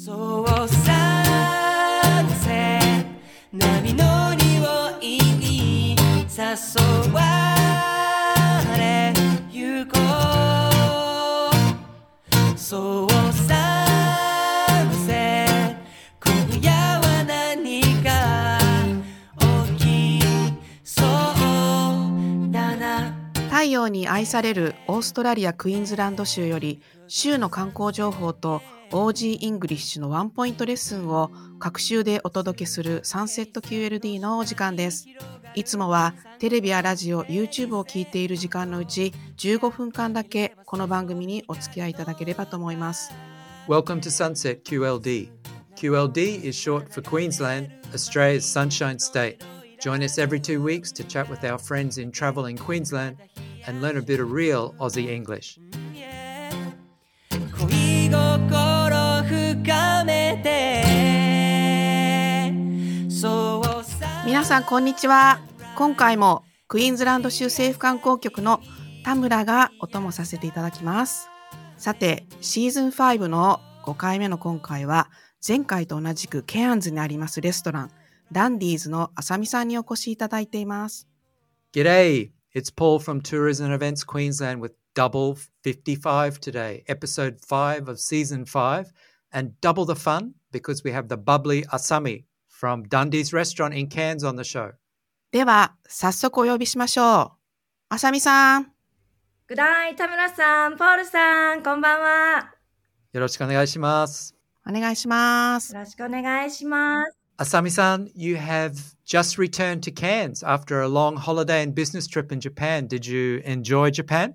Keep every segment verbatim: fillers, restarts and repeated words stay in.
そうさせ波の匂いに誘われゆこうそうさせ今夜は何か起きそうだな。 太陽に愛されるオーストラリアクイーンズランド州より州の観光情報と オージー イングリッシュのワンポイントレッスンを各週でお届けするサンセット キューエルディー のお時間です。いつもはテレビやラジオ、YouTube を聞いている時間のうちじゅうごふんかんだけこの番組にお付き合いいただければと思います。 Welcome to Sunset キューエルディー. キューエルディー is short for Queensland, Australia's sunshine state. Join us every two weeks to chat with our friends in travel in Queensland and learn a bit of real Aussie English. 恋心深めてそうさ皆さんこんにちは。今回もクイーンズランド州政府観光局の田村がお供させていただきます。さてシーズンファイブのごかいめの今回は前回と同じくケアンズにありますレストランダンディーズのあさみさんにお越しいただいています。 G'day, it's Paul from Tourism and Events Queensland with double fifty-five today, episode five of season five, and double the fun because we have the bubbly Asami from Dundee's restaurant in Cairns on the show. では早速お呼びしましょう。あさみさん。 グダイ、田村さん、ポールさん、こんばんは。 よろしくお願いします。 お願いします。 よろしくお願いします。 Asami-san, you have just returned to Cairns after a long holiday and business trip in Japan. Did you enjoy Japan?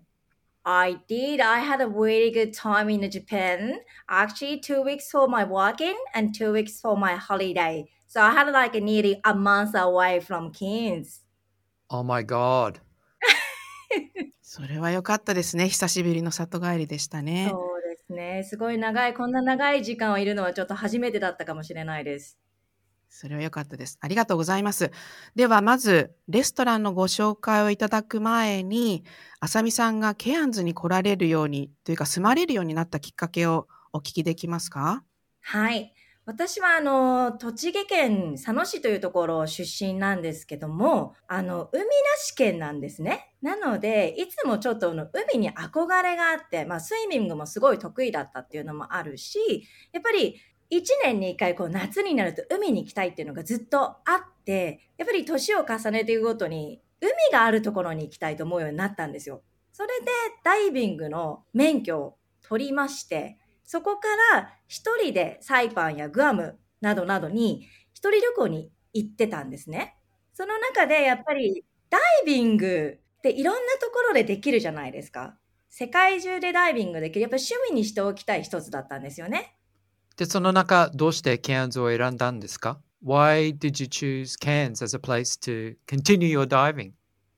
I did. I had a really good time in Japan. Actually, two weeks for my working and two weeks for my holiday. So I had like nearly a month away from Cairns. Oh my God. それは良かったですね。久しぶりの里帰りでしたね。 そうですね。すごい長い、こんな長い時間をいるのはちょっと初めてだったかもしれないです。 それは良かったです。ありがとうございます。ではまずレストランのご紹介をいただく前に、あさみさんがケアンズに来られるようにというか住まれるようになったきっかけをお聞きできますか？ はい。私はあの、栃木県佐野市というところ出身なんですけども、あの、海なし県なんですね。なので、いつもちょっとあの海に憧れがあって、まあ、スイミングもすごい得意だったっていうのもあるし、やっぱりいちねんにいっかいこう夏になると海に行きたいっていうのがずっとあって、やっぱり年を重ねていくごとに海があるところに行きたいと思うようになったんですよ。それでダイビングの免許を取りまして、そこから一人でサイパンやグアムなどなどに一人旅行に行ってたんですね。その中でやっぱりダイビングっていろんなところでできるじゃないですか。世界中でダイビングできる。やっぱり趣味にしておきたい一つだったんですよね。 で、その中、どうしてケアンズを選んだんですか？ Why did you choose Cairns as a place to continue your diving?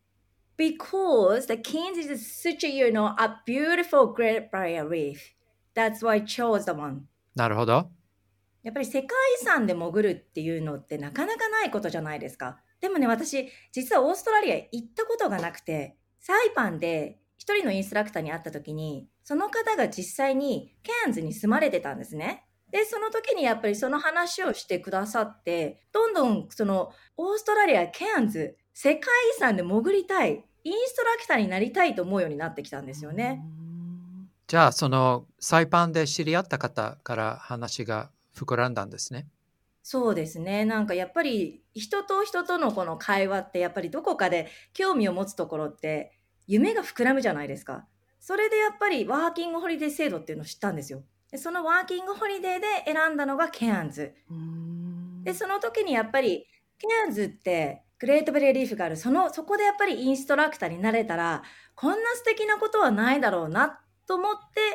Because the Cairns is such a, you know, a beautiful Great Barrier Reef.That's why I chose the one. なるほど。 やっぱり世界遺産で潜るっていうのってなかなかないことじゃないですか。でもね、私、実はオーストラリア行ったことがなくて、サイパンで一人のインストラクターに会った時に、その方が実際にケアンズに住まれてたんですね。で、その時にやっぱりその話をしてくださって、どんどんそのオーストラリア、ケアンズ、世界遺産で潜りたい、インストラクターになりたいと思うようになってきたんですよね。 じゃあ、そのサイパンで知り合った方から話が膨らんだんですね。 そうですね。なんかやっぱり人と人とのこの会話ってやっぱりどこかで興味を持つところって夢が膨らむじゃないですか。それでやっぱりワーキングホリデー制度っていうのを知ったんですよ。でそのワーキングホリデーで選んだのがケアンズ。で、その時にやっぱりケアンズってグレートベリーリーフがある。その、そこでやっぱりインストラクターになれたらこんな素敵なことはないだろうなと思って、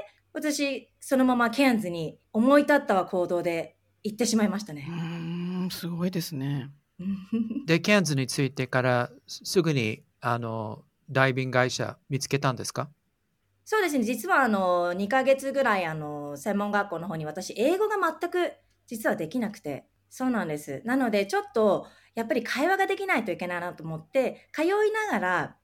私そのままケアンズに思い立ったは行動で行ってしまいましたね。 うーん、すごいですね。 で、ケアンズに着いてからすぐにあのダイビング会社見つけたんですか？ そうですね。実はあのにかげつぐらいあの専門学校の方に私英語が全く実はできなくて、そうなんです。なのでちょっとやっぱり会話ができないといけないなと思って通いながら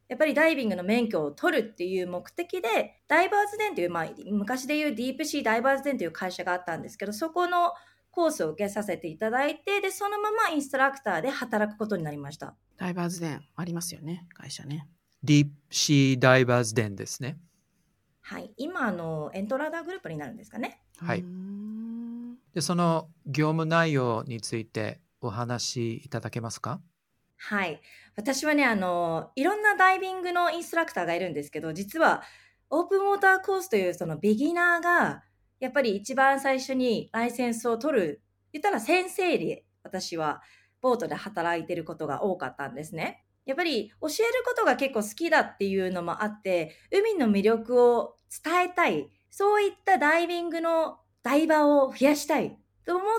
やっぱりダイビングの免許を取るっていう目的で、ダイバーズデンという、まあ、昔でいうディープシーダイバーズデンという会社があったんですけど、そこのコースを受けさせていただいて、で、そのままインストラクターで働くことになりました。 ダイバーズデンありますよね、会社ね。 ディープシーダイバーズデンですね。 はい。今、あの、エントラダーグループになるんですかね。 はい。 うーんで、その業務内容についてお話しいただけますか？ はい。私はね、あの、いろんなダイビングのインストラクターがいるんですけど、実はオープンウォーターコースというそのビギナーが、やっぱり一番最初にライセンスを取る、言ったら先生で私はボートで働いてることが多かったんですね。やっぱり教えることが結構好きだっていうのもあって、海の魅力を伝えたい、そういったダイビングのダイバーを増やしたいと思って、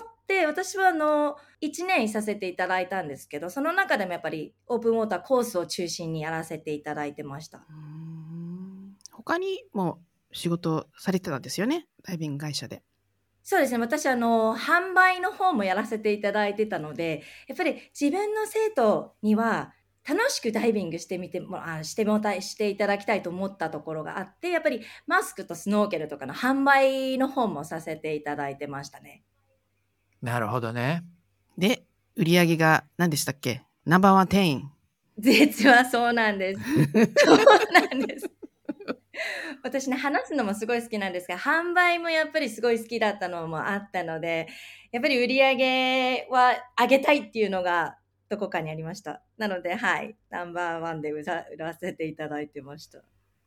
私はあの、いちねんいさせていただいたんですけど、その中でもやっぱりオープンウォーターコースを中心にやらせていただいてました。 うーん他にも仕事されてたんですよね、ダイビング会社で。 そうですね。私、あの、販売の方もやらせていただいてたので、やっぱり自分の生徒には楽しくダイビングしてみても、あしてもたい、していただきたいと思ったところがあって、やっぱりマスクとスノーケルとかの販売の方もさせていただいてましたね。 なるほどね。 で、売り上げが何でしたっけ？ナンバーワン店員。 実はそうなんです。そうなんです。私ね、話すのもすごい好きなんですが、販売もやっぱりすごい好きだったのもあったので、やっぱり売り上げは上げたいっていうのがどこかにありました。なので、はい、ナンバーワンで売ら売らせていただいてました。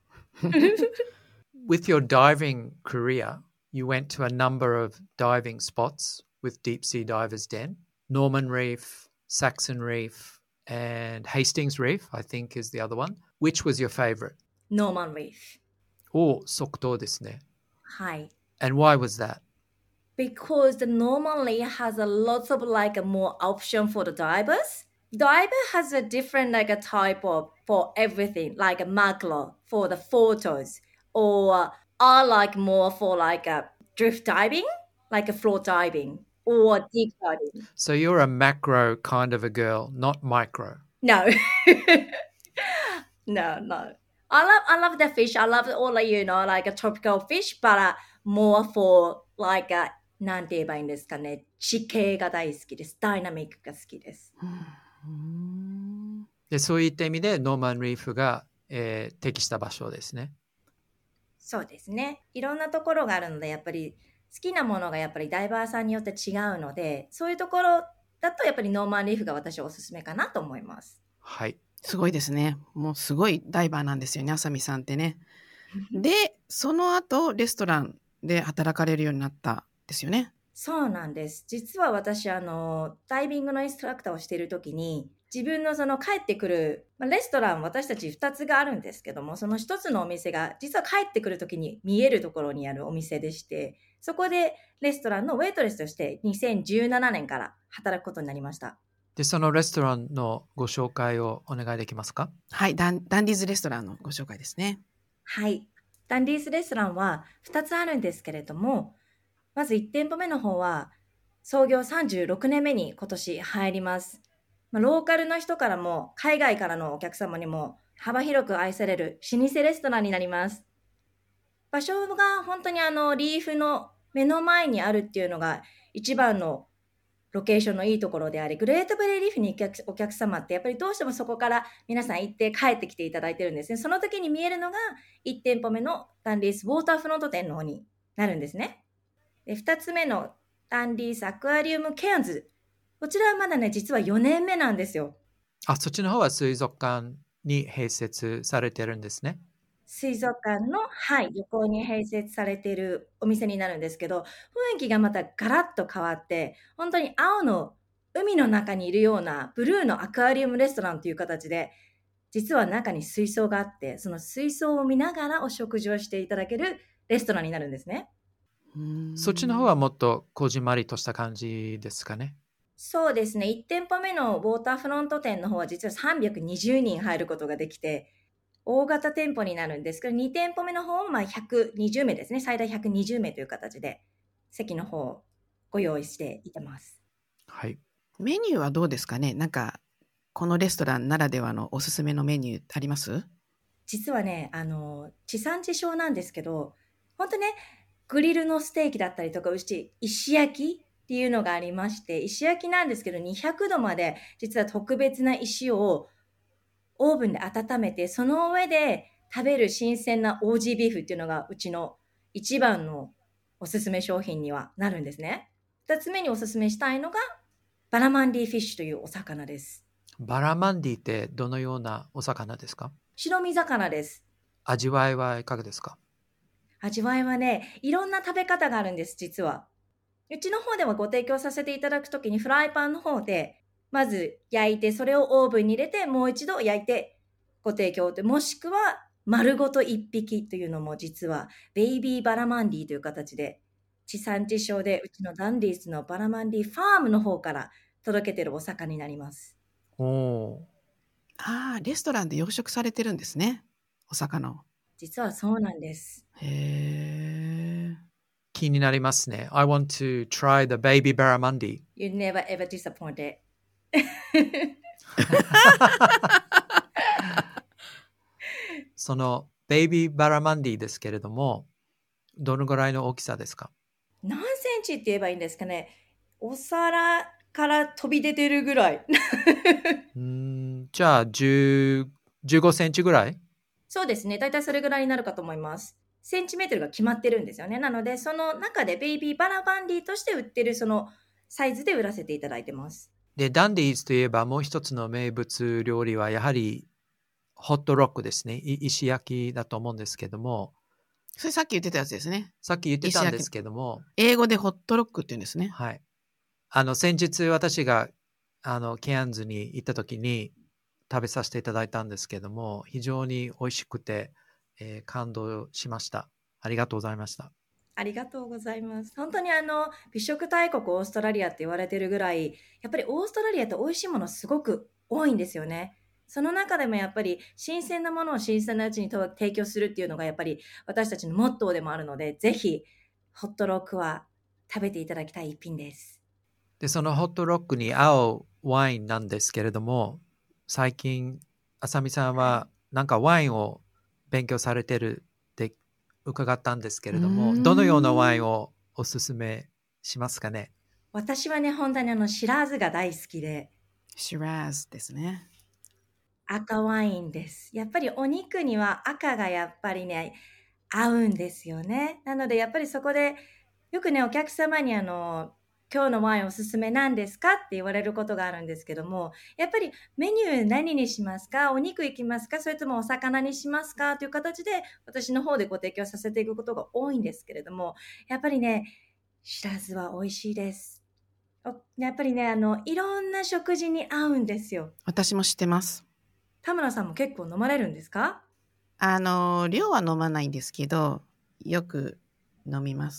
With your diving career, you went to a number of diving spots with Deep Sea Divers Den. Norman Reef, Saxon Reef, and Hastings Reef, I think is the other one. Which was your favorite? ノーマンリーフ。 お、即答ですね。 はい。 And why was that? Because the Norman Reef has a lot of like a more option for the divers. Diver has a different like a type of for everything, like a macro for the photos, or I like more for like a drift diving, like a float diving, or deep diving. So you're a macro kind of a girl, not micro. No, no, no. I love I love the fish. I love all like, you know, like a tropical fish, but uh, more for like a なんて言えばいいんですかね。地形が大好きです。ダイナミックが好きです。 うんで、そういった意味でノーマンリーフが、えー適した場所ですね。 そうですね。いろんなところがあるので、やっぱり好きなものがやっぱりダイバーさんによって違うので、そういうところだとやっぱりノーマンリーフが私はおすすめかなと思います。 はい。 すごいですね。もうすごいダイバーなんですよね、あさみさんってね。で、その後レストランで働かれるようになったんですよね。 そうなんです。実は私、あの、ダイビングのインストラクターをしているときに、自分のその帰ってくる、まあレストラン、私たちふたつがあるんですけども、そのひとつのお店が、実は帰ってくるときに見えるところにあるお店でして、そこでレストランのウェイトレスとしてにせんじゅうななねんから働くことになりました。 で、そのレストランのご紹介をお願いできますか？ はいダン、ダンディーズレストランのご紹介ですね。 はい。ダンディースレストランはふたつあるんですけれども、まずいち店舗目の方は創業さんじゅうろくねんめに今年入ります。まあ、ローカルの人からも海外からのお客様にも幅広く愛される老舗レストランになります。場所が本当にあのリーフの目の前にあるっていうのが一番のロケーションのいいところであり、グレートベリーリーフに行くお客様ってやっぱりどうしてもそこから皆さん行って帰ってきていただいてるんですね。その時に見えるのがいち店舗目のダンディースウォーターフロント店の方になるんですね。で、ふたつめのダンディースアクアリウムケアンズ。こちらはまだね、実はよねんめなんですよ。 あ、そっちの方は水族館に併設されてるんですね。 水族館の、はい、横に併設されているお店になるんですけど、雰囲気がまたガラッと変わって、本当に青の海の中にいるようなブルーのアクアリウムレストランという形で、実は中に水槽があって、その水槽を見ながらお食事をしていただけるレストランになるんですね。 そっちの方はもっとこじんまりとした感じですかね。 そうですね。いち店舗目のウォーターフロント店の方は実はさんびゃくにじゅうにん入ることができて、大型店舗になるんですけど、に店舗目の方はまあひゃくにじゅうめいですね。最大ひゃくにじゅうめいという形で席の方をご用意していてます。 はい。 メニューはどうですかね。なんかこのレストランならではのおすすめのメニューあります？ 実はね、あの、地産地消なんですけど、本当ね、グリルのステーキだったりとか、うち石焼きっていうのがありまして、石焼きなんですけど、にひゃくどまで実は特別な石をオーブンで温めて、その上で食べる新鮮な オージー ビーフっていうのがうちの一番のおすすめ商品にはなるんですね。二つ目におすすめしたいのがバラマンディフィッシュというお魚です。 バラマンディってどのようなお魚ですか？ 白身魚です。 味わいはいかがですか？ 味わいはね、いろんな食べ方があるんです、実は。うちの方ではご提供させていただくときにフライパンの方で、まず焼いて、それをオーブンに入れて、もう一度焼いてご提供と、もしくは丸ごと一匹というのも実は、ベイビーバラマンディという形で、地産地消でうちのダンディースのバラマンディファームの方から届けてるお魚になります。 おお。 ああ、レストランで養殖されてるんですね。お魚を。 実はそうなんです。 へえ。 気になりますね。I want to try the baby barramundi. You never ever disappointed. そのベイビーバラマンディですけれども、どのぐらいの大きさですか？ 何センチって言えばいいんですかね。お皿から飛び出てるぐらい。 うーん、じゃあじゅう、じゅうごセンチぐらい？ そうですね。だいたいそれぐらいになるかと思います。センチメートルが決まってるんですよね。なので、その中でベイビーバラバンディとして売ってるそのサイズで売らせていただいてます。 で、ダンディーズといえばもう一つの名物料理はやはりホットロックですね。い石焼きだと思うんですけども、 それさっき言ってたやつですね。 さっき言ってたんですけども、 英語でホットロックって言うんですね。 はい。あの、先日私があのケアンズに行った時に食べさせていただいたんですけども、非常に美味しくて、えー感動しました。ありがとうございました。 ありがとうございます。本当にあの、美食大国オーストラリアって言われてるぐらい、やっぱりオーストラリアって美味しいものすごく多いんですよね。その中でもやっぱり新鮮なものを新鮮なうちにと提供するっていうのがやっぱり私たちのモットーでもあるので、ぜひホットロックは食べていただきたい一品です。 で、そのホットロックに合うワインなんですけれども、最近、あさみさんはなんかワインを勉強されてるって伺ったんですけれども、 うーんどのようなワインをおすすめしますかね？ 私はね、本当にあの、シラーズが大好きで、 シラーズですね。 赤ワインです。やっぱりお肉には赤がやっぱりね、合うんですよね。なのでやっぱりそこで、よくね、お客様にあの、今日のワインおすすめなんですかって言われることがあるんですけども、やっぱりメニュー何にしますか？お肉いきますか？それともお魚にしますか？という形で私の方でご提供させていくことが多いんですけれども、やっぱりね、シラズは美味しいです。おやっぱりね、あの、いろんな食事に合うんですよ。 私も知ってます。 田村さんも結構飲まれるんですか？ あの、量は飲まないんですけど、よく飲みます。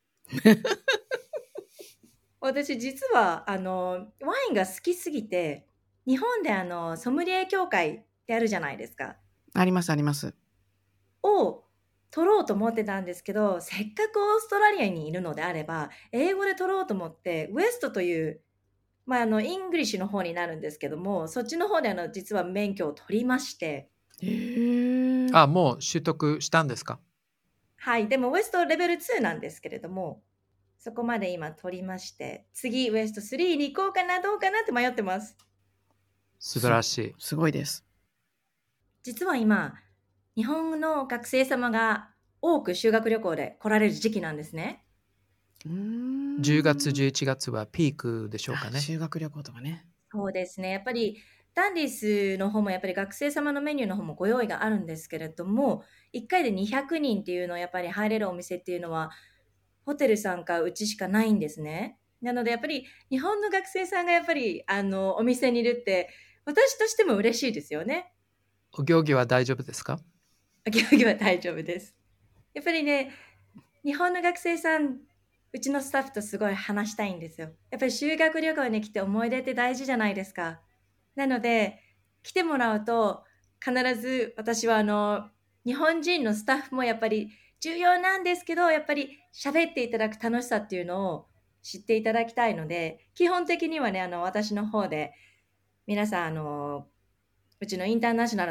私実はあのワインが好きすぎて、日本であのソムリエ協会ってあるじゃないですか。 ありますあります。 を取ろうと思ってたんですけど、せっかくオーストラリアにいるのであれば、英語で取ろうと思って、ウエストという、まあ、あの、イングリッシュの方になるんですけども、そっちの方であの、実は免許を取りまして、 へえ。 あ、もう取得したんですか？ はい、でもウエストレベルツーなんですけれども、そこまで今取りまして、次ウエストスリーに行こうかな、どうかなって迷ってます。 素晴らしい。 すごいです。 実は今、日本の学生様が多く修学旅行で来られる時期なんですね。 うーんじゅうがつ、じゅういちがつはピークでしょうかあね。 修学旅行とかね。 そうですね。やっぱりダンディスの方もやっぱり学生様のメニューの方もご用意があるんですけれども、いっかいでにひゃくにんっていうのはやっぱり入れるお店っていうのはホテルさんかうちしかないんですね。なのでやっぱり日本の学生さんがやっぱりあのお店にいるって私としても嬉しいですよね。 お行儀は大丈夫ですか？ お行儀は大丈夫です。やっぱりね、日本の学生さん、うちのスタッフとすごい話したいんですよ。やっぱり修学旅行に来て思い出って大事じゃないですか。なので、来てもらうと、必ず私はあの、日本人のスタッフもやっぱり重要なんですけど、やっぱり喋っていただく楽しさっていうのを知っていただきたいので、基本的にはね、あの、私の方で、皆さん、あの、うちのインターナショナルの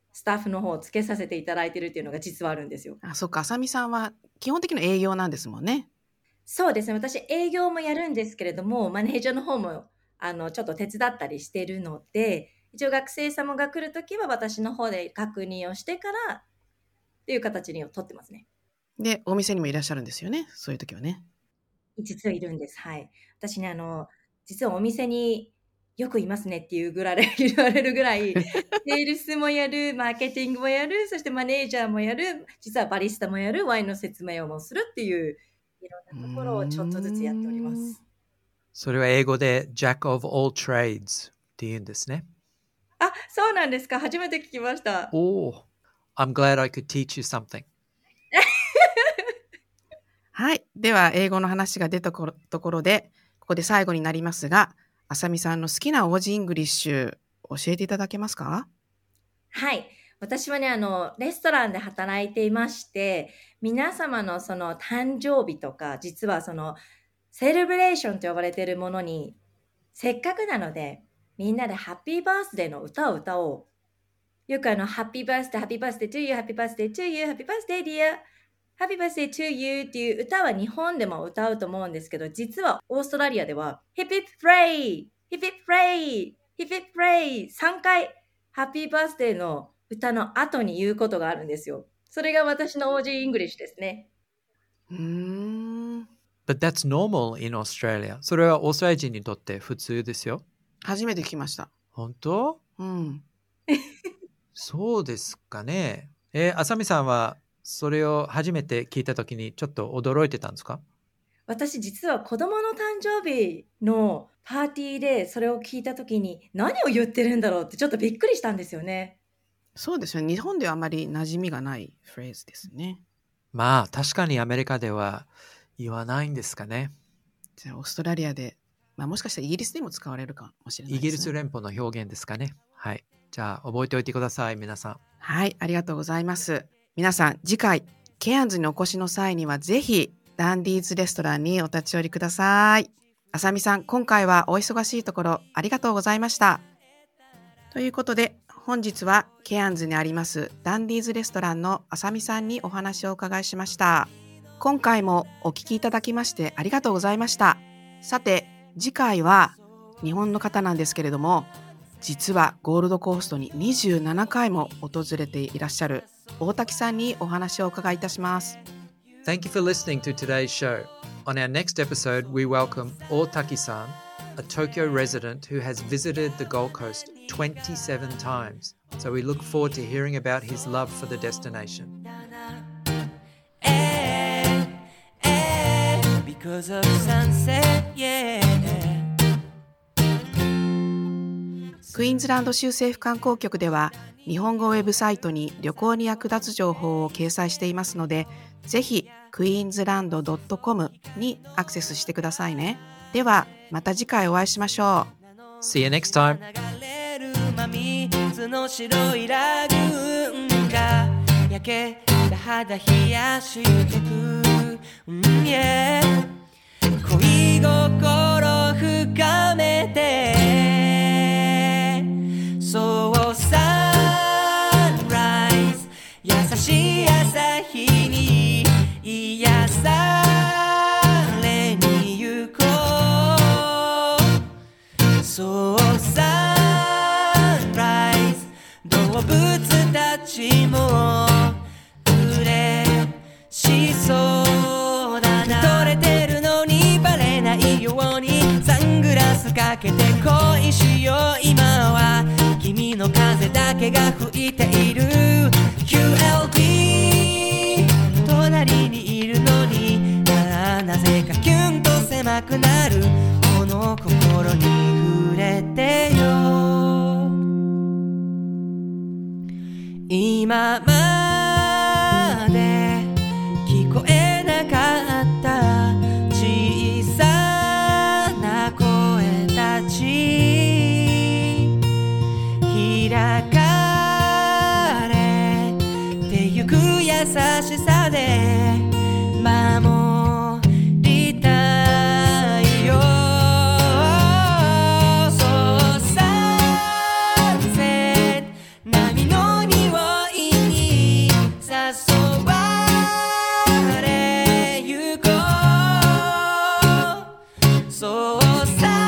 スタッフの方をつけさせていただいているっていうのが実はあるんですよ。 あ、そっか、あさみさんは基本的な営業なんですもんね。 そうですね。私営業もやるんですけれども、マネージャーの方もあのちょっと手伝ったりしているので、一応学生様が来るときは私の方で確認をしてからっていう形に取ってますね。 で、お店にもいらっしゃるんですよね。そういう時はね。 実はいるんです。はい。私ね、あの、実はお店によくいますねっていうぐらい言われるぐらい、セールスもやる、マーケティングもやる、そしてマネージャーもやる、実はバリスタもやる、ワインの説明をもするっていう、いろんなところをちょっとずつやっております。 それは英語で Jack of all trades って言うんですね。 あ、そうなんですか。初めて聞きました。 おー、I'm glad I could teach you something. はい。では、英語の話が出たところで、ここで最後になりますが、あさみさんの好きなオージーイングリッシュ、教えていただけますか？ はい。私はね、あの、レストランで働いていまして、皆様のその誕生日とか、実はその、セレブレーションと呼ばれているものに、せっかくなので、みんなでハッピーバースデーの歌を歌おう。よくあの、ハッピーバースデー、ハッピーバースデー to you, ハッピーバースデー to you, ハッピーバースデー dear, ハッピーバースデー to you っていう歌は日本でも歌うと思うんですけど、実はオーストラリアでは、ヒッピップレイ、ヒッピップレイ、ヒッピップレイ、さんかい、ハッピーバースデーの歌の後に言うことがあるんですよ。それが私の オージー イングリッシュですね。 うーん。 But that's normal in Australia. それはオーストラリア人にとって普通ですよ。 初めて聞きました。 本当？ うん。 そうですかね。えー、あさみさんはそれを初めて聞いたときにちょっと驚いてたんですか？ 私実は子供の誕生日のパーティーでそれを聞いたときに何を言ってるんだろうってちょっとびっくりしたんですよね。 そうですよね。日本ではあまり馴染みがないフレーズですね。 まあ確かにアメリカでは言わないんですかね。 じゃあオーストラリアで、まあ、もしかしたらイギリスでも使われるかもしれないですね。 イギリス連邦の表現ですかね。はい。じゃあ覚えておいてください、皆さん。 はい、ありがとうございます。皆さん、次回、ケアンズにお越しの際にはぜひ、ダンディーズレストランにお立ち寄りください。あさみさん、今回はお忙しいところありがとうございました。ということで、本日はケアンズにありますダンディーズレストランのあさみさんにお話をお伺いしました。今回もお聞きいただきましてありがとうございました。さて、次回は日本の方なんですけれども、実はゴールドコーストににじゅうななかいも訪れていらっしゃる大滝さんにお話をお伺いいたします。 Thank you for listening to today's show. On our next episode, we welcome Otaki-san, a Tokyo resident who has visited the Gold Coast twenty-seven times. So we look forward to hearing about his love for the destination. Because of sunset, yeah. クイーンズランド州政府観光局では日本語ウェブサイトに旅行に役立つ情報を掲載していますので、ぜひクイーンズランド ドットコム にアクセスしてくださいね。ではまた次回お会いしましょう。 See you next time. 流れる真水の白いラグーンが焼けた肌冷やしてく、うん、yeah. 恋心深めてそうサンライズ優しい朝日に癒されに行こうそうサンライズ動物たちも嬉しそうだな取れてるのにバレないようにサングラスかけて恋しよう今は君の風だけが吹いている キューエルディー 隣にいるのにな, なぜかキュンと狭くなるこの心に触れてよ今まで聞こえなかった小さな声たち開かれてゆく優しさで守りたいよそうサンセット波の匂いうさ